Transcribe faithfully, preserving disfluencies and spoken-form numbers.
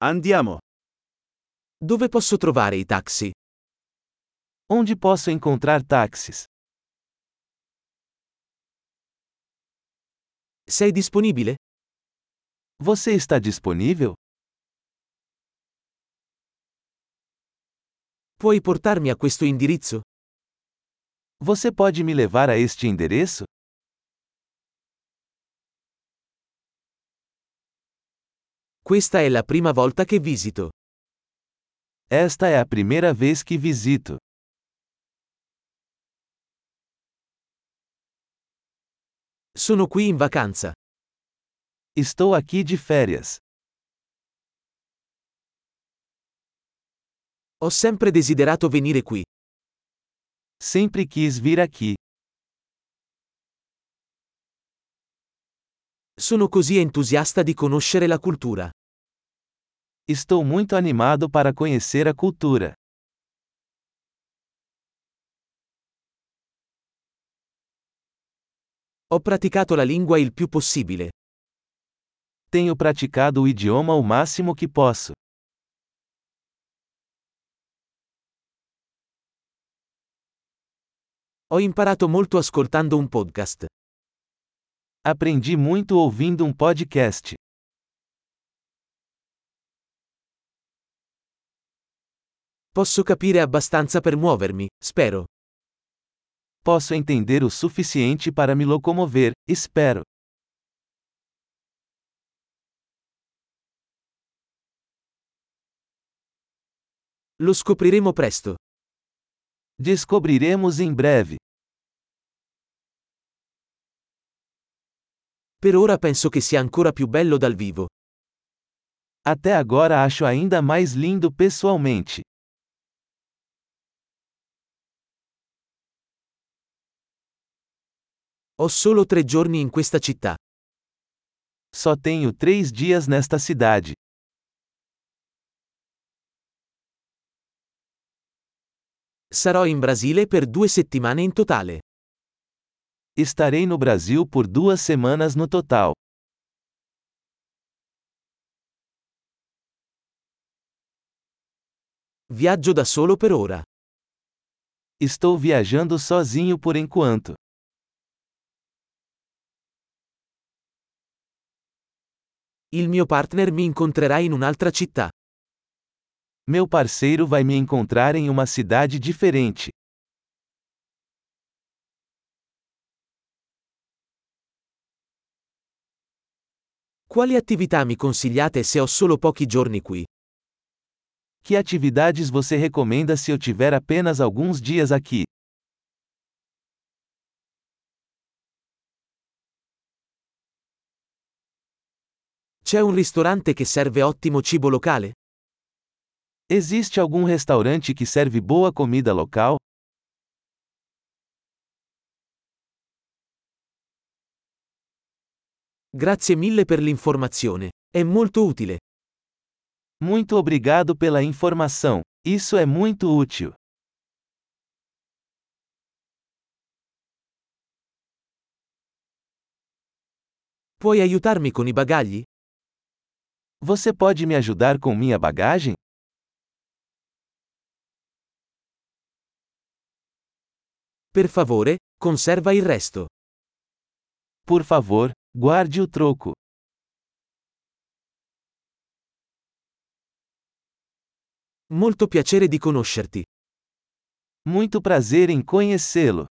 Andiamo. Dove posso trovare i taxi? Onde posso encontrar táxis? Sei disponibile? Você está disponível? Puoi portarmi a questo indirizzo? Você pode me levar a este endereço? Questa è la prima volta che visito. Esta é a primeira vez que visito. Sono qui in vacanza. Estou aqui de férias. Ho sempre desiderato venire qui. Sempre quis vir aqui. Sono così entusiasta di conoscere la cultura. Estou muito animado para conhecer a cultura. Ho praticato la lingua il più possibile. Tenho praticado o idioma o máximo que posso. Ho imparato molto ascoltando un podcast. Aprendi muito ouvindo um podcast. Posso capire abbastanza per muovermi, spero. Posso entender o suficiente para me locomover, espero. Lo scopriremo presto. Descobriremos em breve. Per ora penso che sia ancora più bello dal vivo. Até agora acho ainda mais lindo pessoalmente. Ho solo tre giorni in questa città. Só tenho três dias nesta cidade. Sarò in Brasile per due settimane in totale. Estarei no Brasil por duas semanas no total. Viaggio da solo per ora. Estou viajando sozinho por enquanto. Il mio partner mi incontrerà in un'altra città. Meu parceiro vai me encontrar em uma cidade diferente. Quali attività mi consigliate se ho solo pochi giorni qui? Que atividades você recomenda se eu tiver apenas alguns dias aqui? C'è un ristorante che serve ottimo cibo locale? Existe algum restaurante que serve boa comida local? Grazie mille per l'informazione. È molto utile. Muito obrigado pela informação. Isso é muito útil. Puoi aiutarmi con i bagagli? Você pode me ajudar com minha bagagem? Per favore, conserva il resto. Por favor, guarde o troco. Molto piacere di conoscerti. Muito prazer em conhecê-lo.